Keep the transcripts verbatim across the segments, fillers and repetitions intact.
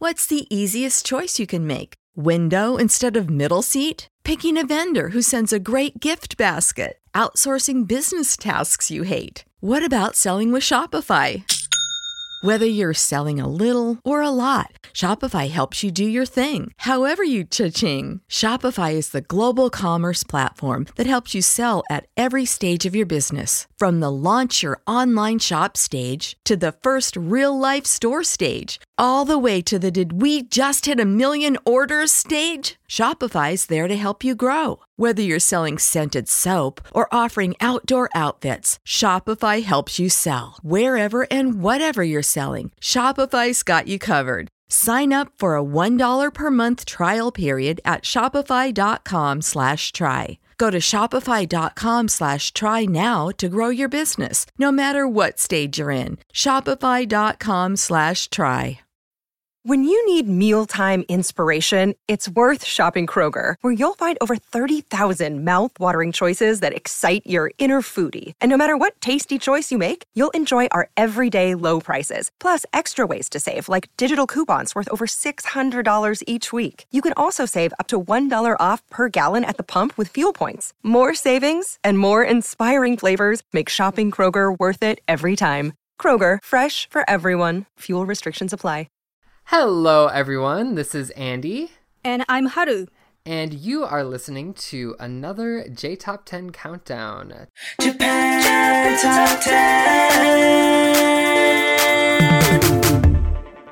What's the easiest choice you can make? Window instead of middle seat? Picking a vendor who sends a great gift basket? Outsourcing business tasks you hate? What about selling with Shopify? Whether you're selling a little or a lot, Shopify helps you do your thing, however you cha-ching. Shopify is the global commerce platform that helps you sell at every stage of your business. From the launch your online shop stage to the first real-life store stage, all the way to the did we just hit a million orders stage. Shopify's there to help you grow. Whether you're selling scented soap or offering outdoor outfits, Shopify helps you sell. Wherever and whatever you're selling, Shopify's got you covered. Sign up for a one dollar per month trial period at shopify.com slash try. Go to shopify.com slash try now to grow your business, no matter what stage you're in. Shopify.com slash try. When you need mealtime inspiration, it's worth shopping Kroger, where you'll find over thirty thousand mouth-watering choices that excite your inner foodie. And no matter what tasty choice you make, you'll enjoy our everyday low prices, plus extra ways to save, like digital coupons worth over six hundred dollars each week. You can also save up to one dollar off per gallon at the pump with fuel points. More savings and more inspiring flavors make shopping Kroger worth it every time. Kroger, fresh for everyone. Fuel restrictions apply. Hello, everyone. This is Andy. And I'm Haru. And you are listening to another J Top ten Countdown. Japan Top ten.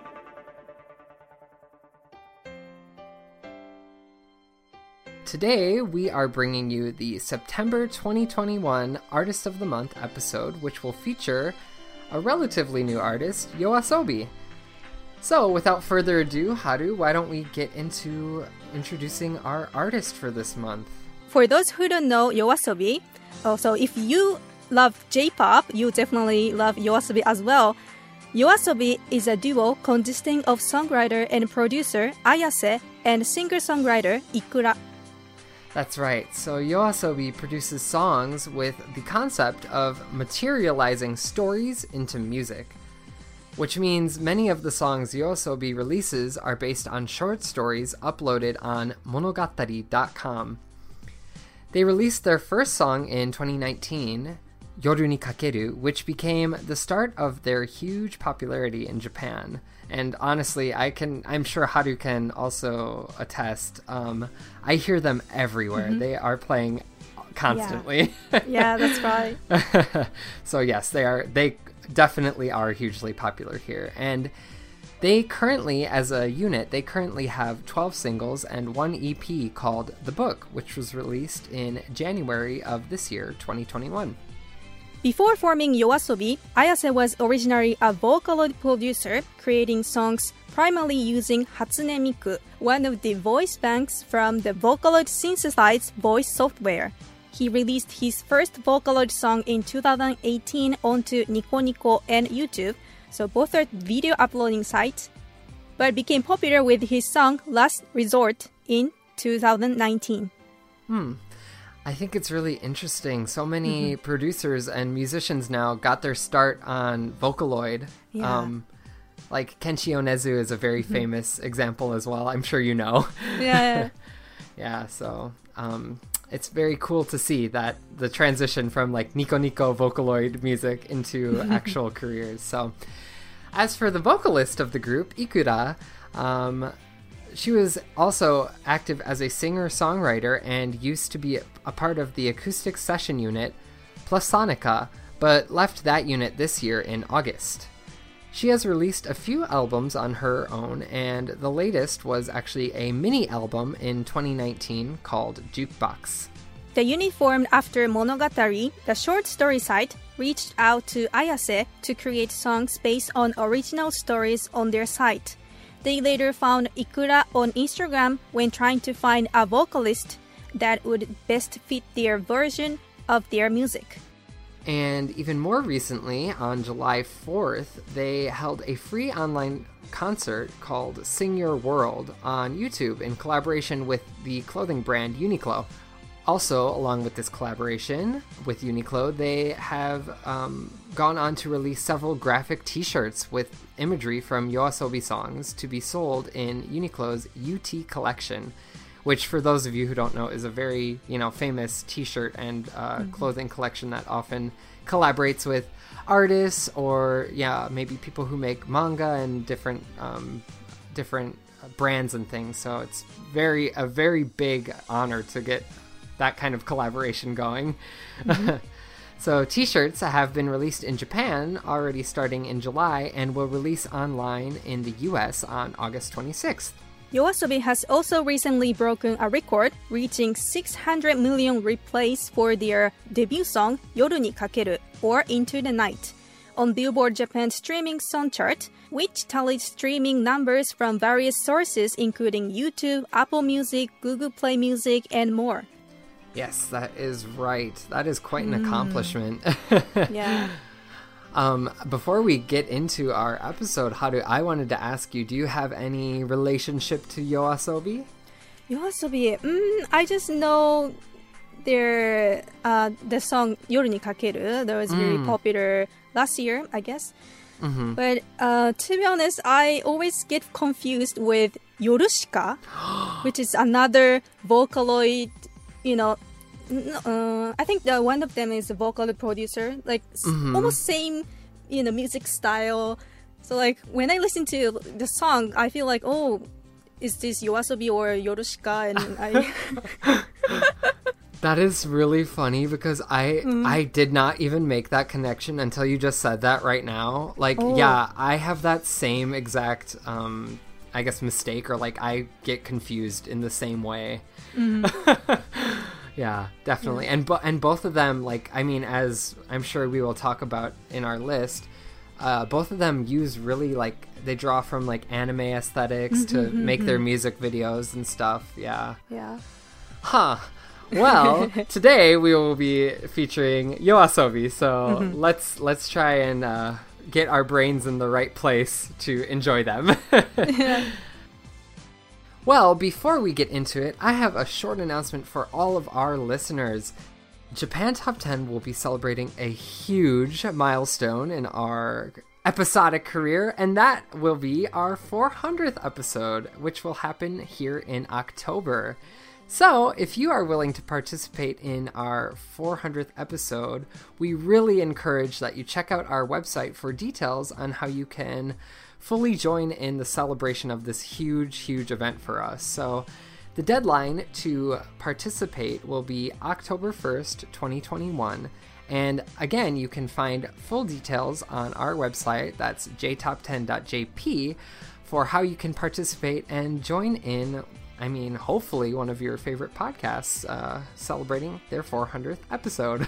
Today, we are bringing you the September twenty twenty-one Artist of the Month episode, which will feature a relatively new artist, YOASOBI. So, without further ado, Haru, why don't we get into introducing our artist for this month? For those who don't know YOASOBI, oh, so if you love J-pop, you definitely love YOASOBI as well. YOASOBI is a duo consisting of songwriter and producer Ayase and singer-songwriter Ikura. That's right. So YOASOBI produces songs with the concept of materializing stories into music, which means many of the songs YOASOBI releases are based on short stories uploaded on monogatari dot com. They released their first song in twenty nineteen, Yoru ni Kakeru, which became the start of their huge popularity in Japan. And honestly, I can, I'm sure Haru can also attest. Um, I hear them everywhere. Mm-hmm. They are playing constantly. Yeah, yeah, that's right. So yes, they are. They definitely are hugely popular here, and they currently, as a unit, they currently have twelve singles and one E P called The Book, which was released in January of this year, twenty twenty-one. Before forming YOASOBI, Ayase was originally a Vocaloid producer, creating songs primarily using Hatsune Miku, one of the voice banks from the Vocaloid synthesized voice software. He released his first Vocaloid song in two thousand eighteen onto Nico Nico and YouTube, so both are video uploading sites, but became popular with his song Last Resort in two thousand nineteen. Hmm. I think it's really interesting. So many mm-hmm. producers and musicians now got their start on Vocaloid. Yeah. Um, like Kenshi Yonezu is a very mm-hmm. famous example as well. I'm sure you know. Yeah. Yeah, so um, it's very cool to see that the transition from like Nico Nico Vocaloid music into actual careers. So as for the vocalist of the group, Ikura, um, she was also active as a singer-songwriter and used to be a part of the acoustic session unit Plusonica, but left that unit this year in August. She has released a few albums on her own, and the latest was actually a mini-album in twenty nineteen called Jukebox. The unit formed after Monogatari, the short story site, reached out to Ayase to create songs based on original stories on their site. They later found Ikura on Instagram when trying to find a vocalist that would best fit their version of their music. And even more recently, on July fourth, they held a free online concert called Sing Your World on YouTube in collaboration with the clothing brand Uniqlo. Also, along with this collaboration with Uniqlo, they have um, gone on to release several graphic t-shirts with imagery from YOASOBI songs to be sold in Uniqlo's U T collection, which, for those of you who don't know, is a very, you know, famous t-shirt and uh, mm-hmm. clothing collection that often collaborates with artists or, yeah, maybe people who make manga and different um, different brands and things. So it's very a very big honor to get that kind of collaboration going. Mm-hmm. So t-shirts have been released in Japan already starting in July and will release online in the U S on August twenty-sixth. YOASOBI has also recently broken a record, reaching six hundred million replays for their debut song Yoru ni Kakeru, or Into the Night, on Billboard Japan's streaming song chart, which tallies streaming numbers from various sources including YouTube, Apple Music, Google Play Music, and more. Yes, that is right. That is quite an mm. accomplishment. Yeah. Um, before we get into our episode, Haru, I wanted to ask you, do you have any relationship to YOASOBI? YOASOBI, mm, I just know their uh, the song Yoru ni Kakeru. That was very mm. popular last year, I guess. Mm-hmm. But uh, to be honest, I always get confused with Yorushika, which is another Vocaloid. You know, uh, I think the one of them is a vocal producer, like mm-hmm. almost same, you know, music style. So like when I listen to the song, I feel like, oh, is this YOASOBI or Yorushika? And I. That is really funny because I mm. I did not even make that connection until you just said that right now. Like, oh. yeah, I have that same exact, um, I guess, mistake, or like I get confused in the same way. Mm-hmm. Yeah, definitely. Yeah. And bo- and both of them, like, I mean, as I'm sure we will talk about in our list, uh, both of them use really, like, they draw from, like, anime aesthetics mm-hmm, to mm-hmm. make their music videos and stuff. Yeah. Yeah. Huh. Well, today we will be featuring YOASOBI, so mm-hmm. let's let's try and uh, get our brains in the right place to enjoy them. Yeah. Well, before we get into it, I have a short announcement for all of our listeners. Japan Top ten will be celebrating a huge milestone in our episodic career, and that will be our four hundredth episode, which will happen here in October. So, if you are willing to participate in our four hundredth episode, we really encourage that you check out our website for details on how you can fully join in the celebration of this huge, huge event for us. So, the deadline to participate will be October first, twenty twenty-one. And again, you can find full details on our website, that's j top ten dot j p, for how you can participate and join in, I mean, hopefully one of your favorite podcasts uh, celebrating their four hundredth episode.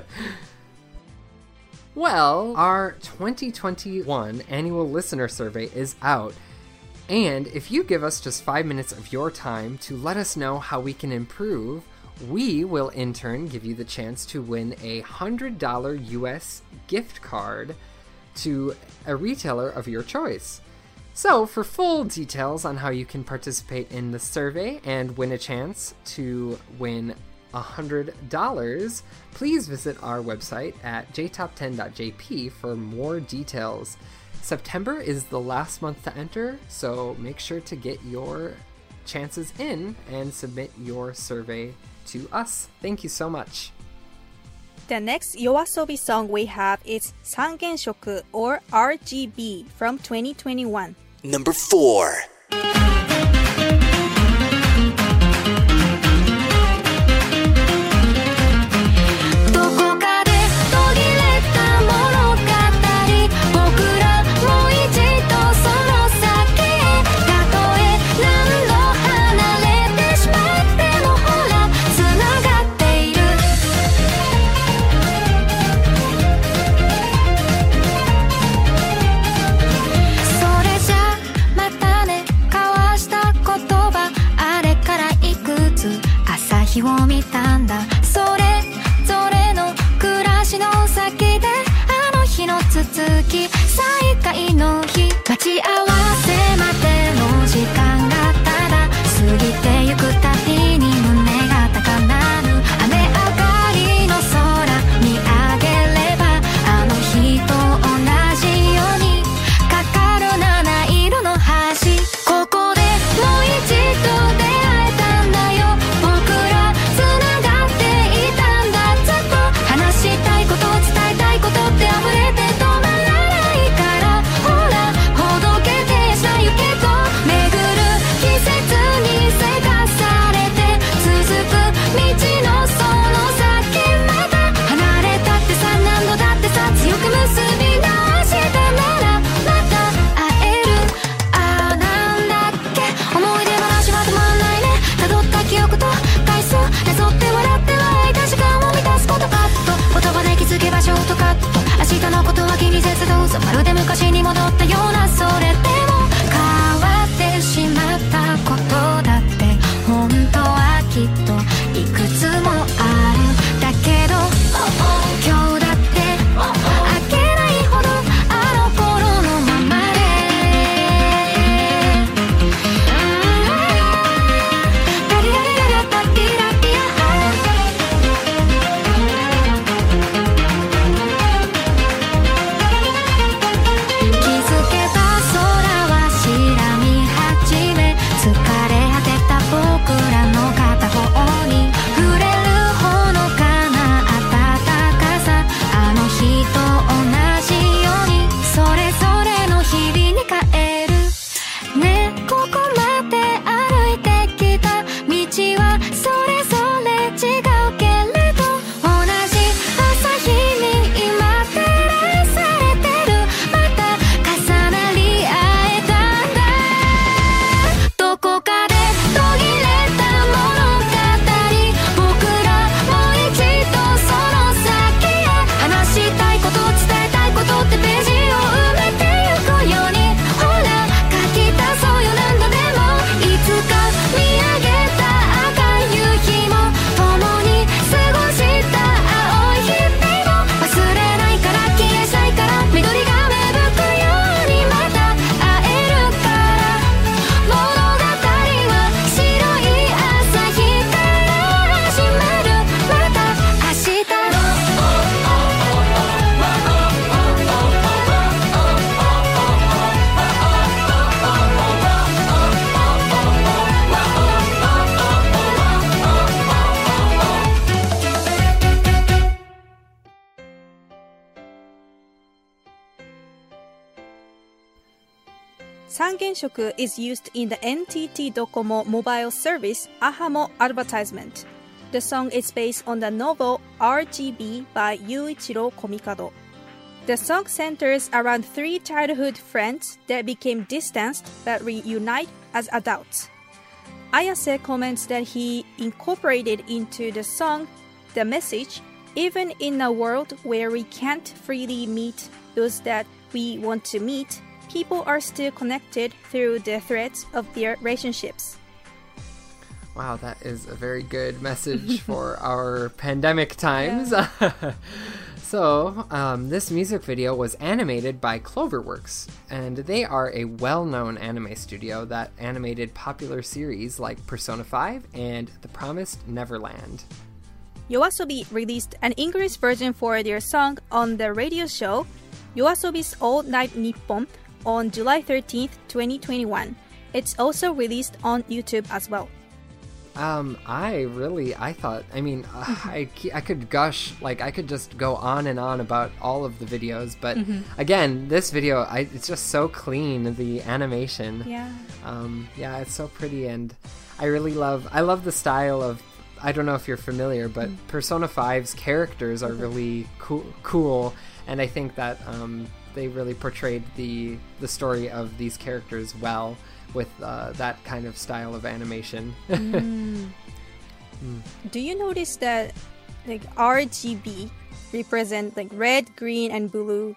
Well, our twenty twenty-one annual listener survey is out. And if you give us just five minutes of your time to let us know how we can improve, we will in turn give you the chance to win a one hundred dollars U S gift card to a retailer of your choice. So, for full details on how you can participate in the survey and win a chance to win one hundred dollars, please visit our website at j top ten dot j p for more details. September is the last month to enter, so make sure to get your chances in and submit your survey to us. Thank you so much. The next YOASOBI song we have is Sangenshoku, or R G B, from twenty twenty-one. Number four. 日を見たんだそれぞれの暮らしの先であの日の続き再会の日待ち合わせまでの時間がただ過ぎてゆくたびに胸が高鳴る Kenshoku is used in the N T T Docomo mobile service Ahamo advertisement. The song is based on the novel R G B by Yuichiro Komikado. The song centers around three childhood friends that became distanced but reunite as adults. Ayase comments that he incorporated into the song the message, even in a world where we can't freely meet those that we want to meet, people are still connected through the threads of their relationships. Wow, that is a very good message for our pandemic times. Yeah. So, um, this music video was animated by Cloverworks, and they are a well-known anime studio that animated popular series like Persona five and The Promised Neverland. YOASOBI released an English version for their song on the radio show YOASOBI's All Night Nippon on July thirteenth, twenty twenty-one. It's also released on YouTube as well. Um, I really, I thought, I mean, uh, I, I could gush, like, I could just go on and on about all of the videos, but mm-hmm. again, this video, I, it's just so clean, the animation. Yeah. Um, yeah, it's so pretty, and I really love, I love the style of, I don't know if you're familiar, but mm. Persona five's characters are really cool, cool, and I think that, um, they really portrayed the, the story of these characters well, with uh, that kind of style of animation. mm. Mm. Do you notice that like R G B represent like red, green, and blue?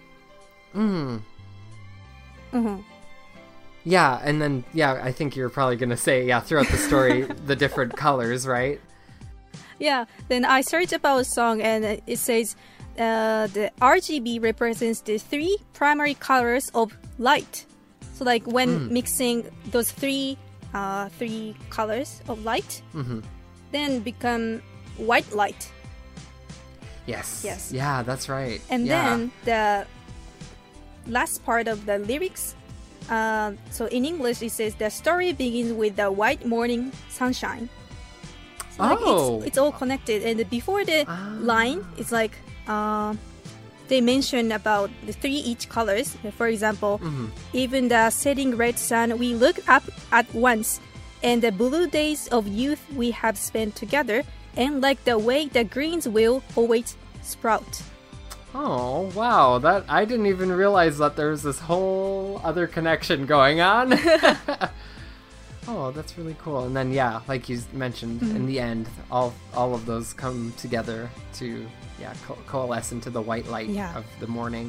Mm. Mm-hmm. Yeah, and then yeah, I think you're probably gonna say yeah throughout the story the different colors, right? Yeah. Then I searched about a song and it says uh, the R G B represents the three primary colors of light. So like when mm. mixing those three uh, three colors of light, mm-hmm. then become white light. Yes. Yes. Yeah, that's right. And yeah. then the last part of the lyrics, uh, so in English it says the story begins with the white morning sunshine. So like oh. it's, it's all connected. And before the ah. line, it's like... Uh, they mention about the three each colors. For example, mm-hmm. even the setting red sun we look up at once, and the blue days of youth we have spent together, and like the way the greens will always sprout. Oh, wow. That I didn't even realize that there was this whole other connection going on. Oh, that's really cool. And then, yeah, like you mentioned, mm-hmm. in the end, all all of those come together to... yeah, co- coalesce into the white light yeah. of the morning.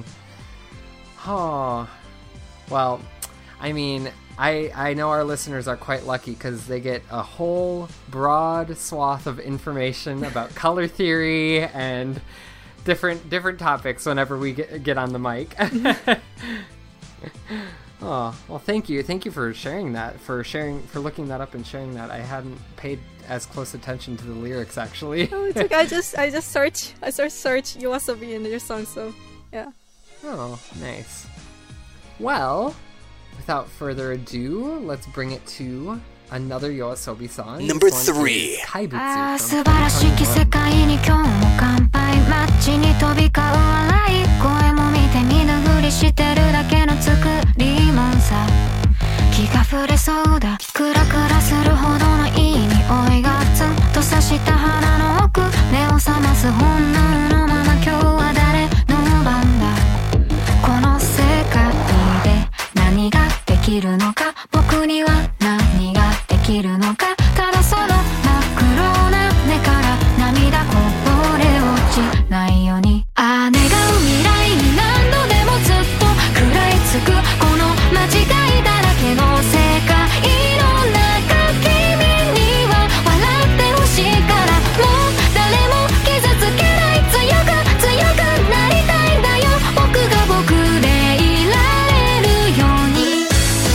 Oh, well, I mean, I I know our listeners are quite lucky because they get a whole broad swath of information about color theory and different different topics whenever we get get on the mic. Oh, well, thank you. Thank you for sharing that, for sharing, for looking that up and sharing that. I hadn't paid as close attention to the lyrics, actually. Oh, it's like I just, I just search, I search, search YOASOBI in your song, so, yeah. Oh, nice. Well, without further ado, let's bring it to another YOASOBI song. Number three. Kaibutsu. 素晴らしき世界に今日も乾杯街に飛び交う笑い声も見て見ぬふりしてるだけの作りもんさ気が触れそうだクラクラするほどのいい匂いがツンと刺した鼻の奥目を覚ます本能のまま今日は誰の番だこの世界で何ができるのか僕には何ができるのかただその真っ黒な目から涙こぼれ落ちないようにああ願う未来に何度でもずっと食らいつくこの間違いだらけの世界の中君には笑ってほしいからもう誰も傷つけない強く強くなりたいんだよ僕が僕でいられるように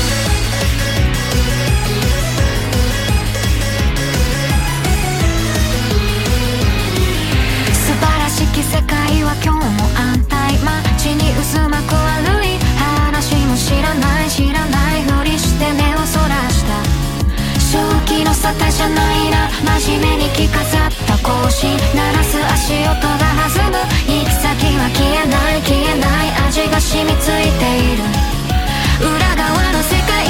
素晴らしき世界は今日も安泰街に渦巻く悪い話も知らない知らないふりして目をそらした正気の沙汰じゃないな真面目に着飾った格子鳴らす足音が弾む行き先は消えない消えない味が染みついている裏側の世界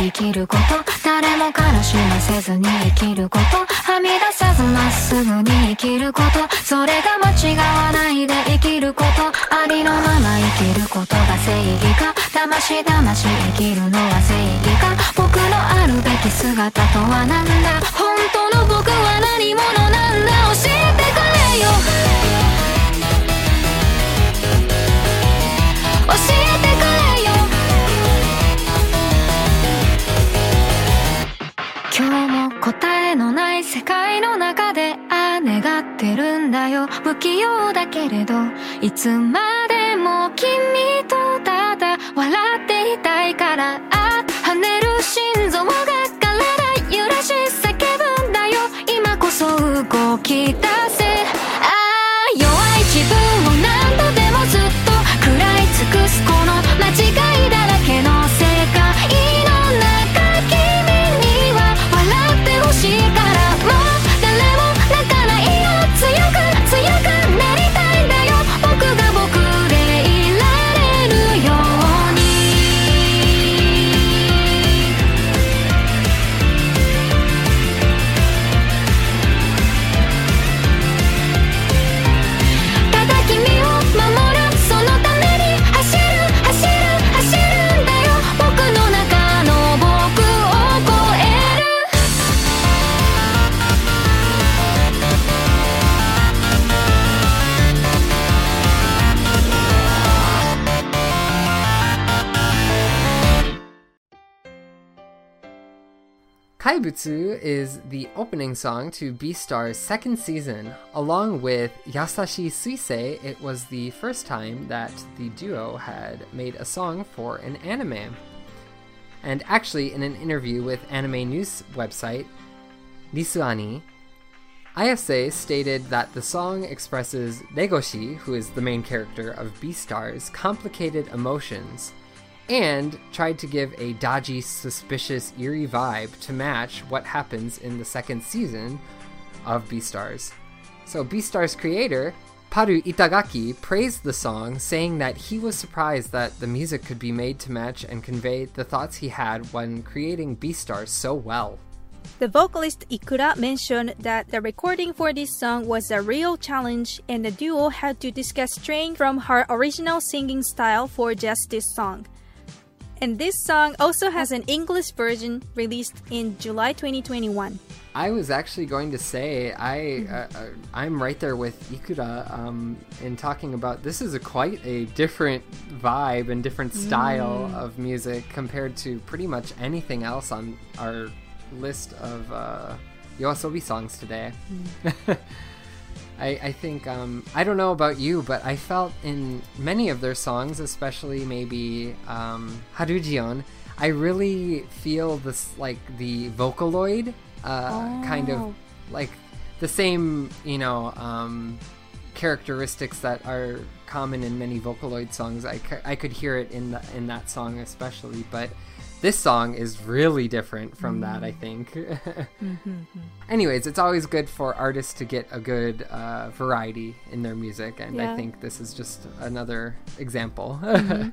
生きること、誰も悲しませずに生きること、はみ出さずまっすぐに生きること、それが間違わないで生きること、ありのまま生きることが正義か、だましだまし生きるのは正義か、僕のあるべき姿とはなんだ、本当の僕は何者なんだ、教えてくれよ、教えてくれよ、今日も答えのない世界の中でああ願ってるんだよ、不器用だけれどいつまでも君とただ笑っていたいから、あ跳ねる心臓が体揺らし叫ぶんだよ、今こそ動き出せ、ああ弱い自分を何度でもずっと食らい尽くすこの間違いだらけの世界の中、君には笑ってほしいから、もう誰も泣かないよ、強く強くなりたいんだよ、僕が僕でいられるように、ただ君を守るそのために走る走る走るんだよ、僕の中の僕を超える、 Kaibutsu is the opening song to Beastar's second season. Along with Yasashi Suisei, it was the first time that the duo had made a song for an anime. And actually, in an interview with anime news website Risuani, Ayase stated that the song expresses Legoshi, who is the main character of Beastars, complicated emotions, and tried to give a dodgy, suspicious, eerie vibe to match what happens in the second season of Beastars. So Beastars creator, Paru Itagaki, praised the song, saying that he was surprised that the music could be made to match and convey the thoughts he had when creating Beastars so well. The vocalist Ikura mentioned that the recording for this song was a real challenge and the duo had to discuss straying from her original singing style for just this song. And this song also has an English version released in July twenty twenty-one. I was actually going to say, I, uh, uh, I'm right there with Ikura um, in talking about this is a quite a different vibe and different style mm. of music compared to pretty much anything else on our list of uh, YOASOBI songs today. Mm. I, I think, um, I don't know about you, but I felt in many of their songs, especially maybe um, Harujion, I really feel this, like, the Vocaloid, uh, oh. kind of, like, the same, you know, um, characteristics that are common in many Vocaloid songs. I, I could hear it in, the, in that song especially, but this song is really different from mm. that, I think. mm-hmm. Anyways, it's always good for artists to get a good uh, variety in their music, and yeah. I think this is just another example. mm-hmm.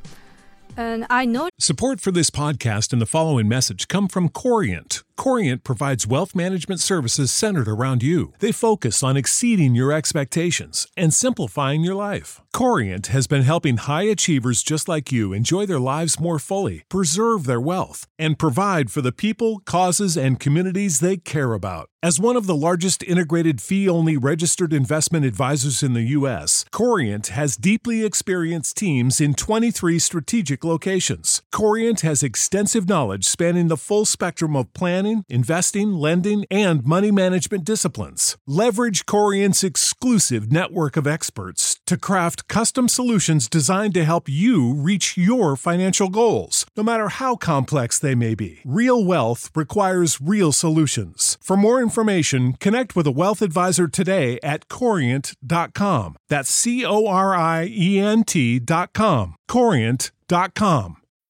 And I know support for this podcast and the following message come from Corient. Corient provides wealth management services centered around you. They focus on exceeding your expectations and simplifying your life. Corient has been helping high achievers just like you enjoy their lives more fully, preserve their wealth, and provide for the people, causes, and communities they care about. As one of the largest integrated fee-only registered investment advisors in the U S, Corient has deeply experienced teams in twenty-three strategic locations. Corient has extensive knowledge spanning the full spectrum of planning, investing, lending, and money management disciplines. Leverage Corient's exclusive network of experts to craft custom solutions designed to help you reach your financial goals, no matter how complex they may be. Real wealth requires real solutions. For more information, connect with a wealth advisor today at corient dot com. That's C O R I E N T dot com. corient dot com.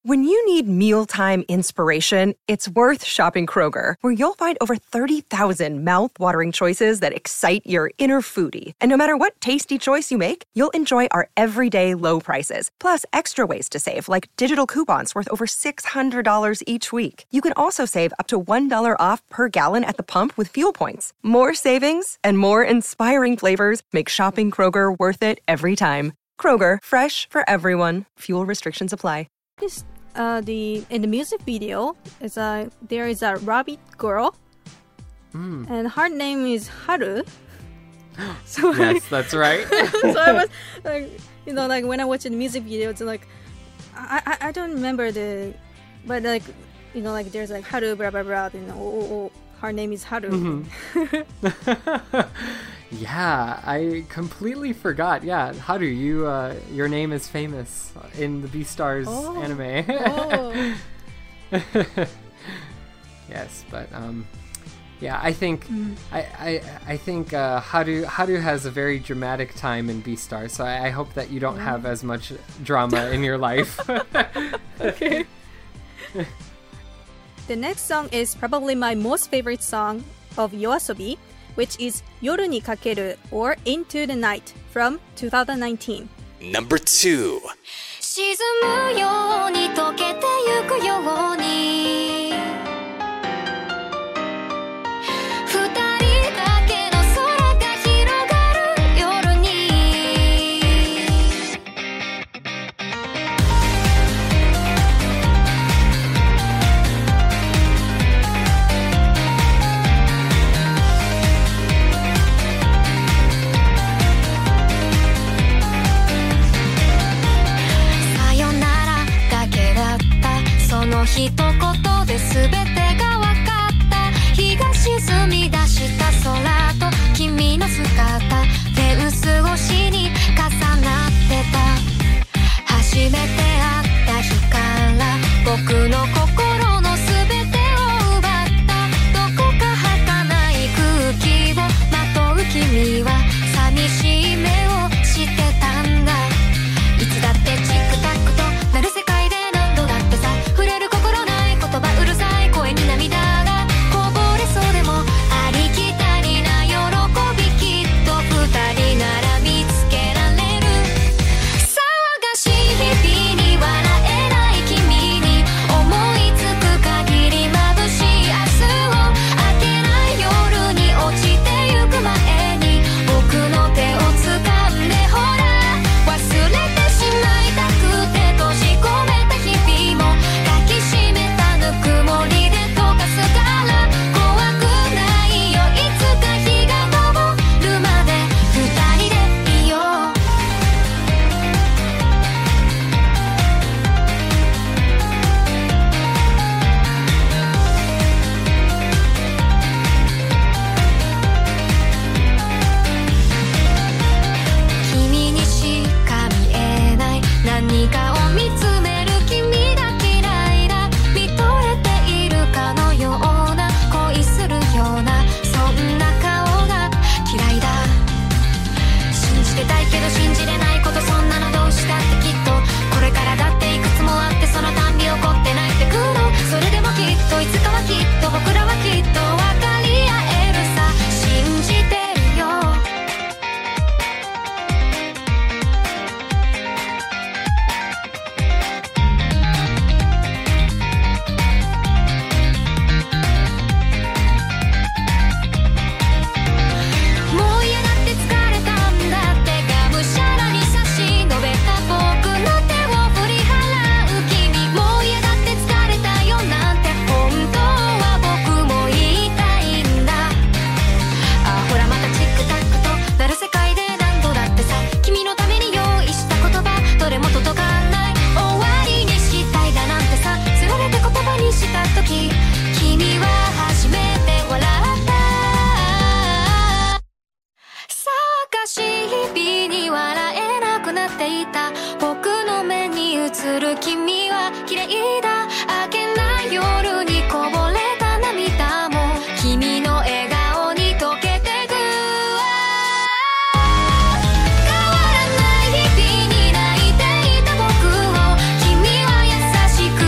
When you need mealtime inspiration, it's worth shopping Kroger, where you'll find over thirty thousand mouth-watering choices that excite your inner foodie. And no matter what tasty choice you make, you'll enjoy our everyday low prices, plus extra ways to save, like digital coupons worth over six hundred dollars each week. You can also save up to one dollar off per gallon at the pump with fuel points. More savings and more inspiring flavors make shopping Kroger worth it every time. Kroger, fresh for everyone. Fuel restrictions apply. This, uh, the in the music video, is a there is a rabbit girl, Mm. and her name is Haru. So Yes, that's right. so I was like, you know, like when I watched the music video, it's like I, I I don't remember the, but like you know, like there's like Haru blah blah blah, you know, oh, oh, oh, her name is Haru. Mm-hmm. Yeah, I completely forgot. Yeah, Haru, you, uh, your name is famous in the Beastars Oh. anime. Oh. Yes, but um, yeah, I think Mm. I I, I think uh, Haru Haru has a very dramatic time in Beastars, so I, I hope that you don't have as much drama in your life. Okay. The next song is probably my most favorite song of YOASOBI, which is Yoru ni Kakeru or Into the Night from two thousand nineteen. Number two. 沈むように溶けてゆくように二人だけの空が広がる夜にさよならだけだったその一言で全てが分かった日が沈み出した空と君の姿フェンス越しに重なってた初めて会った日から僕の心の全てを奪ったどこか儚い空気をまとう君は寂しい目をしてたんだいつだってチックタックとなる世界で何度だってさ触れる心ない言葉うるさい声に涙がこぼれそうでもありきたりな喜びきっと二人なら見つけられる騒がしい日々に笑えない君に思いつく限り眩しい明日を明けない夜に落ちてゆく前に僕の手を掴んでほら忘れてしまいたくて閉じ込めた日々も抱きしめたぬくもりで溶かすから怖くないよいつか日が昇るまで二人でいよう君にしか見えない何かを見つめる君が嫌いだ見とれているかのような恋するようなそんな顔が嫌いだ信じてたいけど信じれないことそんなのどうしたってきっとこれからだっていくつもあってそのたんび怒って泣いてくるそれでもきっといつかはきっと僕らはきっと分かり合えるさ信じてるよもう嫌だって疲れたんだってがむしゃらに差し伸べた僕の手を振り払う君もう嫌だって疲れたよなんて本当は僕も言いたいんだあほらまたチックタックとなる世界で何度だってさ君のために用意した言葉どれも届かない終わりにしたいだなんてさつられて言葉にした時君は初めて笑った騒がしい日々に笑えなくなっていた僕の目に映る君は綺麗だ明けない夜にこぼれた涙も君の笑顔に溶けてく変わらない日々に泣いていた僕を君は優しく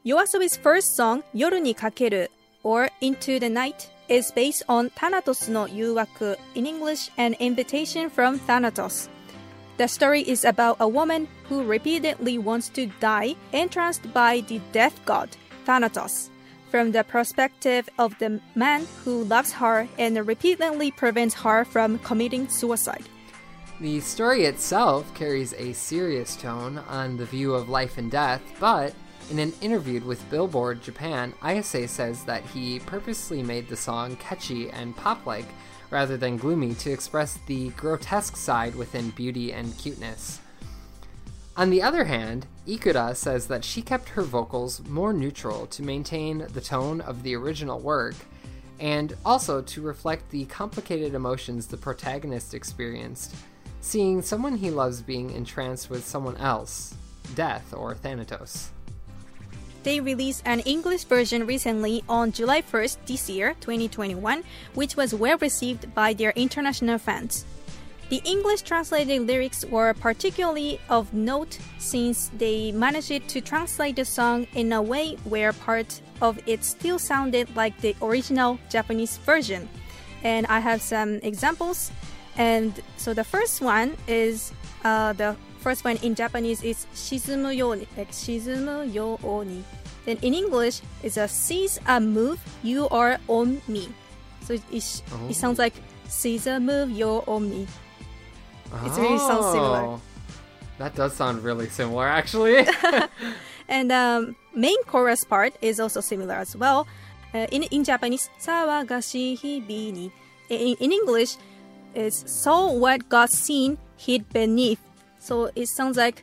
YOASOBI's first song, Yoru ni Kakeru, or Into the Night, is based on Thanatos no Yuwaku, in English, an invitation from Thanatos. The story is about a woman who repeatedly wants to die, entranced by the death god, Thanatos, from the perspective of the man who loves her and repeatedly prevents her from committing suicide. The story itself carries a serious tone on the view of life and death, but in an interview with Billboard Japan, Ayase says that he purposely made the song catchy and pop-like rather than gloomy to express the grotesque side within beauty and cuteness. On the other hand, Ikura says that she kept her vocals more neutral to maintain the tone of the original work, and also to reflect the complicated emotions the protagonist experienced, seeing someone he loves being entranced with someone else, death or Thanatos. They released an English version recently on July first this year, twenty twenty-one, which was well received by their international fans. The English translated lyrics were particularly of note since they managed to translate the song in a way where part of it still sounded like the original Japanese version. And I have some examples. And so the first one is, uh, the first one in Japanese is shizumu yo ni, like shizumu yo o ni. Then in English, it's a seize a move, you are on me. So it, it, oh. it sounds like seize a move, you're on me. It really sounds similar. That does sound really similar, actually. And um, main chorus part is also similar as well. Uh, in in Japanese, sawagashi hibi ni. In, in English, it's so what got seen hid beneath. So it sounds like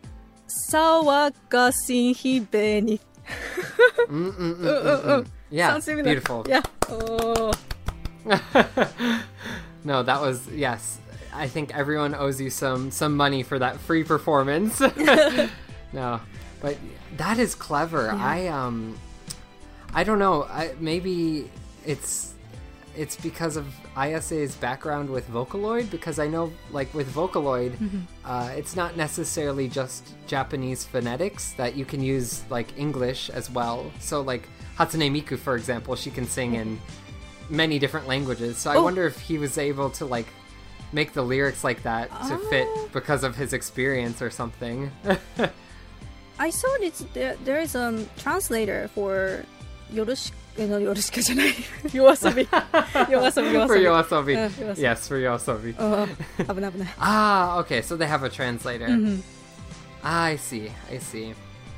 sawagashi hid beneath. mm, mm, mm, mm, mm. Yeah, sounds similar. Beautiful. Yeah. Oh. No, that was, yes. I think everyone owes you some some money for that free performance. No, but that is clever. Yeah. I um, I don't know. I, maybe it's it's because of Ayase's background with Vocaloid. Because I know, like with Vocaloid, mm-hmm. uh, it's not necessarily just Japanese phonetics that you can use like English as well. So like Hatsune Miku, for example, she can sing in many different languages. So I oh. wonder if he was able to like make the lyrics like that to oh. fit because of his experience or something. I saw it's there, there is a um, translator for Yoroshiku, no, Yoroshiku じゃない YOASOBI. YOASOBI, for YOASOBI. Uh, YOASOBI. Yes, for YOASOBI. Oh, 危ない危ない Ah, okay, so they have a translator. Mm-hmm. Ah, I see, I see.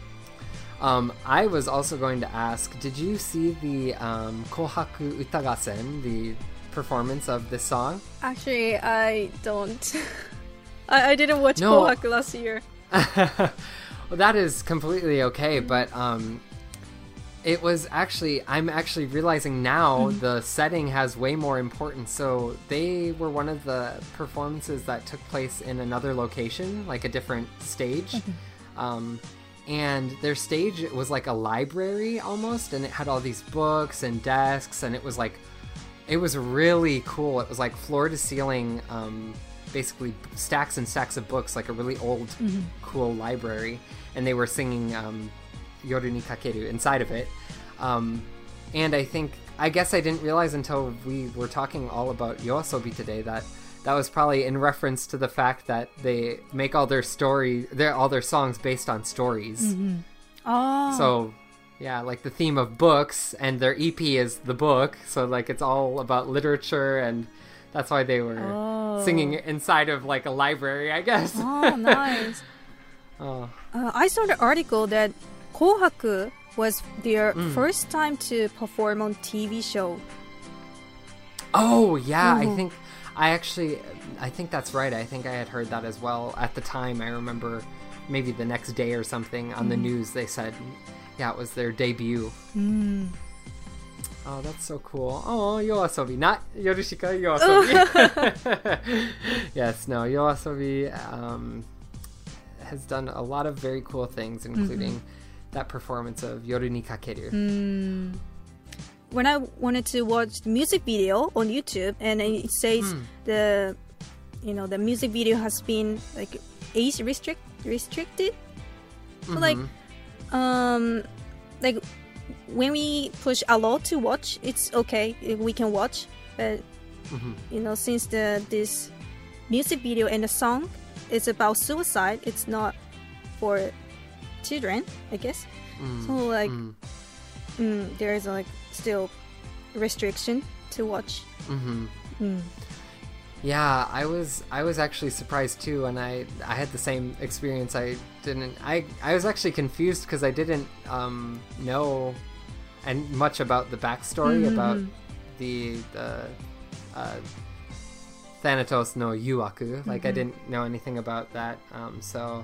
Um, I was also going to ask, did you see the um, Kohaku Utagasen, the performance of this song? Actually, I don't. I, I didn't watch no. Kohaku last year. Well, that is completely okay, but um, it was actually, I'm actually realizing now mm-hmm. the setting has way more importance. So they were one of the performances that took place in another location, like a different stage. Mm-hmm. Um, and their stage was like a library almost, and it had all these books and desks, and it was like, it was really cool. It was like floor to ceiling, um, basically stacks and stacks of books, like a really old, mm-hmm. cool library. And they were singing um, Yoru ni Kakeru inside of it. Um, and I think, I guess I didn't realize until we were talking all about YOASOBI today that that was probably in reference to the fact that they make all their story, their all their songs based on stories. Mm-hmm. Oh. So, yeah, like the theme of books, and their E P is the book. So, like, it's all about literature, and that's why they were oh. singing inside of, like, a library, I guess. Oh, nice. oh. Uh, I saw the article that Kohaku was their mm. first time to perform on T V show. Oh, yeah, mm-hmm. I think... I actually, I think that's right. I think I had heard that as well. At the time, I remember maybe the next day or something on mm. the news, they said, yeah, it was their debut. Mm. Oh, that's so cool. Oh, YOASOBI, not Yorushika, YOASOBI. Yes, no, YOASOBI um, has done a lot of very cool things, including mm-hmm. that performance of Yoru ni Kakeru. Mm. When I wanted to watch the music video on YouTube, and it says mm. the, you know, the music video has been like age restrict restricted. So mm-hmm. like, um, like when we push allow to watch, it's okay. We can watch. But, mm-hmm. you know, since the this music video and the song is about suicide, it's not for children, I guess. Mm. So, like, mm. Mm, there is, like, still restriction to watch. Mm-hmm. Mm. Yeah, I was I was actually surprised too, and I I had the same experience. I didn't I I was actually confused because I didn't um, know and much about the backstory mm-hmm. about the the uh, Thanatos no Yuaku. Like mm-hmm. I didn't know anything about that, um, so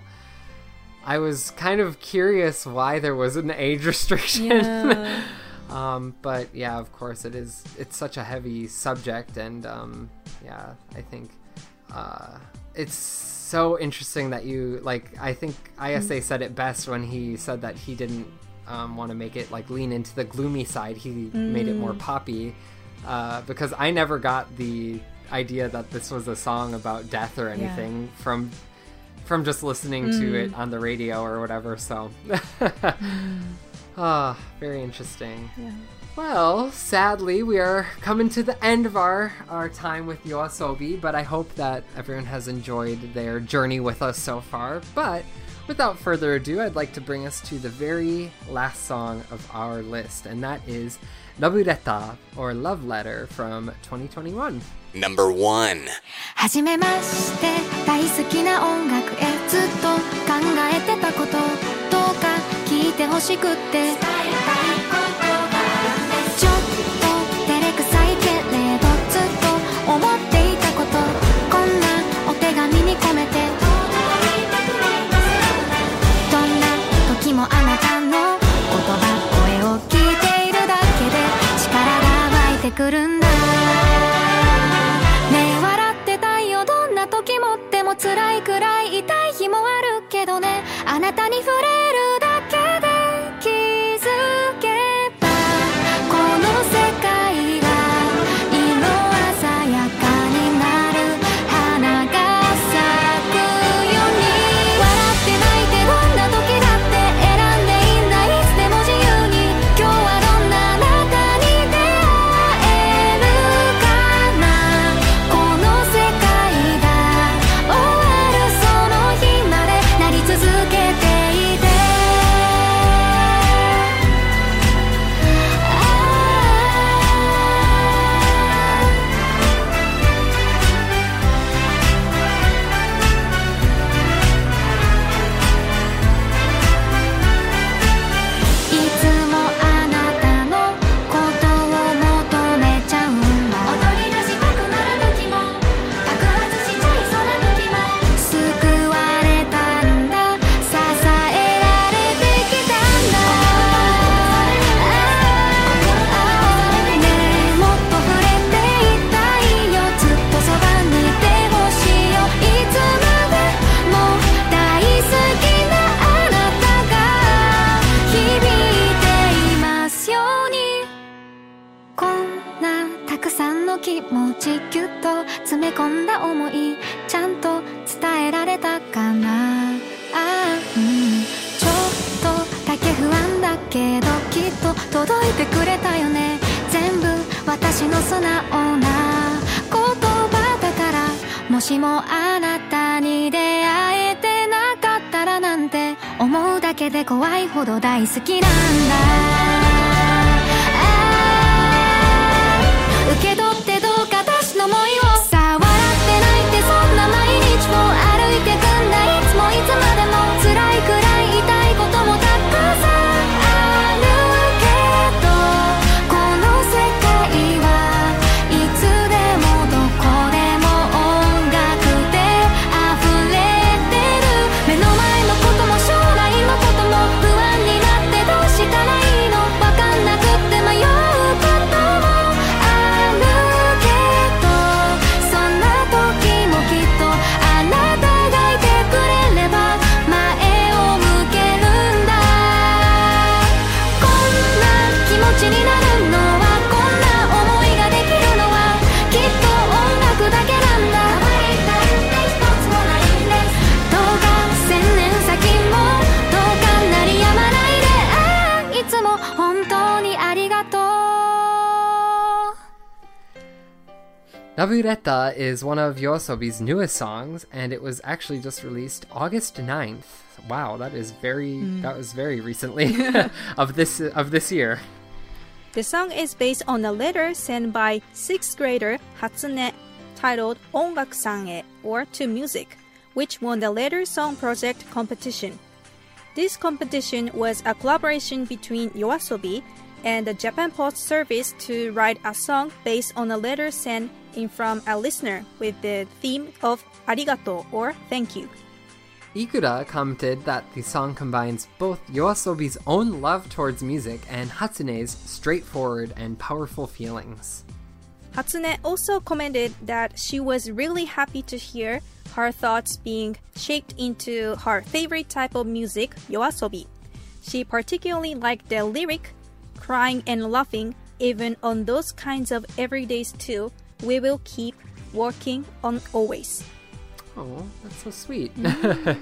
I was kind of curious why there was an age restriction. Yeah. Um, but yeah, of course it is, it's such a heavy subject, and um, yeah, I think uh, it's so interesting that you, like, I think I S A said it best when he said that he didn't um, want to make it, like, lean into the gloomy side. He mm. made it more poppy, uh, because I never got the idea that this was a song about death or anything yeah. from from just listening mm. to it on the radio or whatever, so... mm. Ah, very interesting. Yeah. Well, sadly, we are coming to the end of our, our time with YOASOBI, but I hope that everyone has enjoyed their journey with us so far. But without further ado, I'd like to bring us to the very last song of our list, and that is Love Letter, or Love Letter, from twenty twenty-one. Number one. はじめまして、大好きな音楽へずっと考えてたこと、どうか聞いてほしくって伝えたいことがあるんです。ちょっと照れくさいけれどずっと思っていたこと、こんなお手紙に込めて届いてくれます。どんな時もあなたの言葉、声を聞いているだけで力が湧いてくるんだ。時もでも辛いくらい痛い日もあるけどね、あなたに触れるだけで気づけばこの世界が色鮮やかになる、花が咲くように。笑って泣いてどんな時だって選んでいいんだ、いつでも自由に。今日はどんなあなたに出会えるかな、この世界続けていて。いつもあなたのことを求めちゃうんだ。踊り出したくなる時も爆発しちゃいそうな時も救われたんだ、気持ちぎゅっと詰め込んだ思い、ちゃんと伝えられたかな。あ、うん、ちょっとだけ不安だけどきっと届いてくれたよね。全部私の素直な言葉だから、もしもあなたに出会えてなかったらなんて思うだけで怖いほど大好きなんだ。受け取ってどうか私の想いを。さあ笑って泣いてそんな毎日を歩いてくんだ。いつもいつまでも辛いくらい痛いこともたくさんあるけど、この世界はいつでもどこでも音楽で溢れてる。目の前のことも将来のことも不安になってどうしたらいいの。 Nabureta is one of YOASOBI's newest songs, and it was actually just released August ninth. Wow, that is very mm. that was very recently of this of this year. The song is based on a letter sent by sixth grader Hatsune titled Ongaku-san-e, or To Music, which won the Letter Song Project competition. This competition was a collaboration between YOASOBI and the Japan Post Service to write a song based on a letter sent in from a listener with the theme of arigato, or thank you. Ikura commented that the song combines both YOASOBI's own love towards music and Hatsune's straightforward and powerful feelings. Hatsune also commented that she was really happy to hear her thoughts being shaped into her favorite type of music, YOASOBI. She particularly liked the lyric, crying and laughing, even on those kinds of everydays too, we will keep working on always. Oh, that's so sweet. Mm-hmm.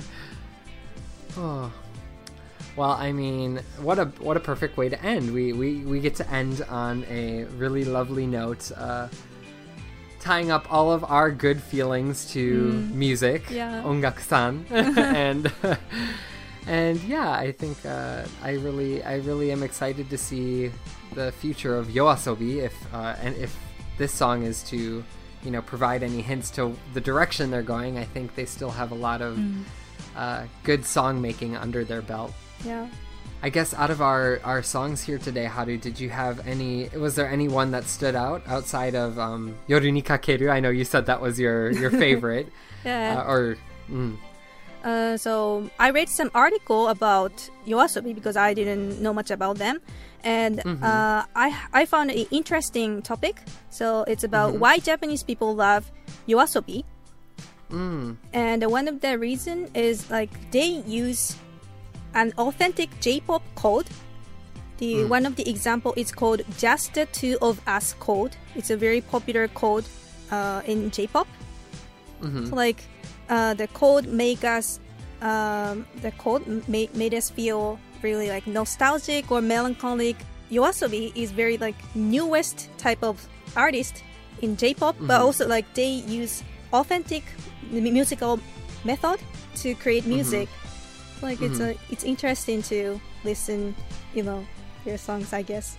Oh. Well, I mean, what a what a perfect way to end. We we, we get to end on a really lovely note, uh, tying up all of our good feelings to mm. music, yeah. Ongaku-san, and and yeah, I think uh, I really I really am excited to see the future of YOASOBI if uh, and if this song is to, you know, provide any hints to the direction they're going. I think they still have a lot of mm. uh, good song making under their belt. Yeah. I guess out of our, our songs here today, Haru, did you have any, was there any one that stood out outside of um, Yoru ni Kakeru? I know you said that was your, your favorite. Yeah. Uh, or, mm. uh, so I read some article about YOASOBI because I didn't know much about them. And mm-hmm. uh, I I found an interesting topic. So it's about mm-hmm. why Japanese people love YOASOBI. Mm. And one of the reason is like they use an authentic J-pop code. The mm. one of the example is called Just the Two of Us code. It's a very popular code uh, in J-pop. Mm-hmm. So like uh, the code make us um, the code made made us feel really like nostalgic or melancholic. YOASOBI is very like newest type of artist in J-pop, mm-hmm. but also like they use authentic musical method to create music. Mm-hmm. Like mm-hmm. it's a it's interesting to listen, you know, their songs, I guess.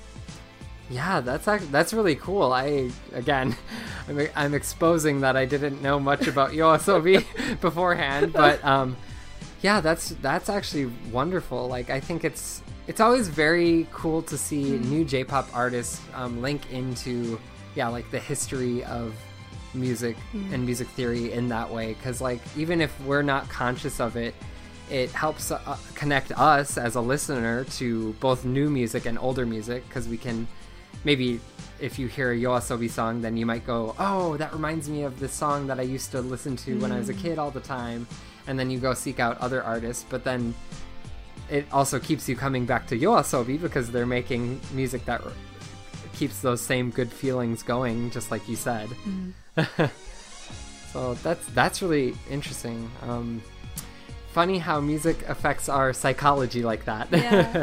Yeah, that's actually, that's really cool. I again, I'm, I'm exposing that I didn't know much about YOASOBI beforehand, but um. Yeah, that's that's actually wonderful. Like, I think it's it's always very cool to see mm. new J-pop artists um, link into, yeah, like the history of music mm. and music theory in that way. Because, like, even if we're not conscious of it, it helps uh, connect us as a listener to both new music and older music. Because we can maybe, if you hear a YOASOBI song, then you might go, oh, that reminds me of this song that I used to listen to mm. when I was a kid all the time. And then you go seek out other artists, but then it also keeps you coming back to YOASOBI because they're making music that r- keeps those same good feelings going, just like you said. Mm. So that's that's really interesting. Um, funny how music affects our psychology like that. Yeah.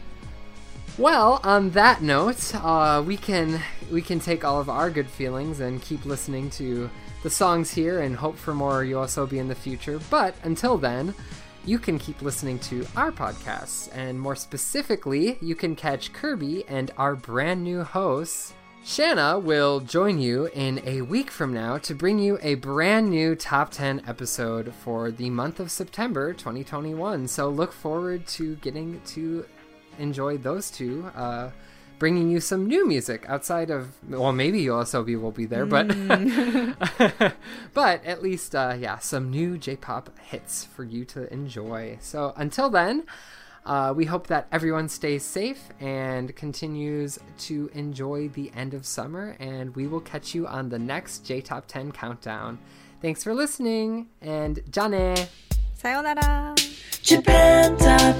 Well, on that note, uh, we can we can take all of our good feelings and keep listening to the songs here and hope for more YOASOBI in the future. But until then, you can keep listening to our podcasts, and more specifically, you can catch Kirby and our brand new hosts. Shanna will join you in a week from now to bring you a brand new top ten episode for the month of September twenty twenty-one. So look forward to getting to enjoy those two, uh, bringing you some new music outside of, well, maybe YOASOBI will be there, but mm. but at least, uh, yeah, some new J-pop hits for you to enjoy. So until then, uh, we hope that everyone stays safe and continues to enjoy the end of summer, and we will catch you on the next J-Top ten Countdown. Thanks for listening, and jane! Sayonara! Japan Top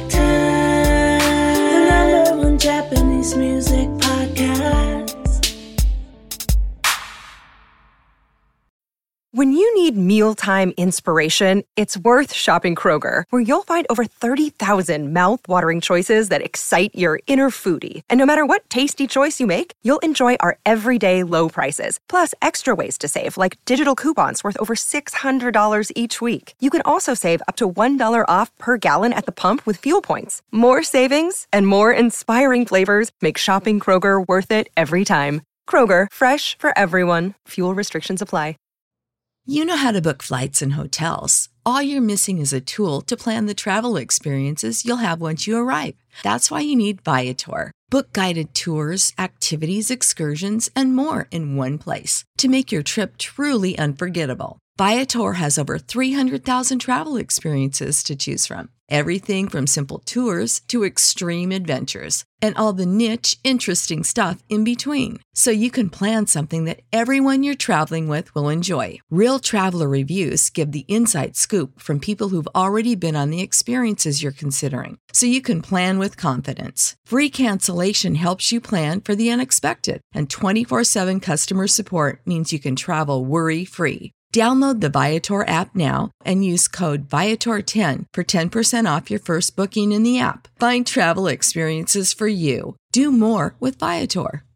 ten, the number one Japanese music podcast. When you need need mealtime inspiration, it's worth shopping Kroger, where you'll find over thirty thousand mouth-watering choices that excite your inner foodie. And no matter what tasty choice you make, you'll enjoy our everyday low prices, plus extra ways to save, like digital coupons worth over six hundred dollars each week. You can also save up to one dollar off per gallon at the pump with fuel points. More savings and more inspiring flavors make shopping Kroger worth it every time. Kroger, fresh for everyone. Fuel restrictions apply. You know how to book flights and hotels. All you're missing is a tool to plan the travel experiences you'll have once you arrive. That's why you need Viator. Book guided tours, activities, excursions, and more in one place to make your trip truly unforgettable. Viator has over three hundred thousand travel experiences to choose from. Everything from simple tours to extreme adventures and all the niche, interesting stuff in between. So you can plan something that everyone you're traveling with will enjoy. Real traveler reviews give the inside scoop from people who've already been on the experiences you're considering. So you can plan with confidence. Free cancellation helps you plan for the unexpected. And twenty-four seven customer support means you can travel worry-free. Download the Viator app now and use code Viator ten for ten percent off your first booking in the app. Find travel experiences for you. Do more with Viator.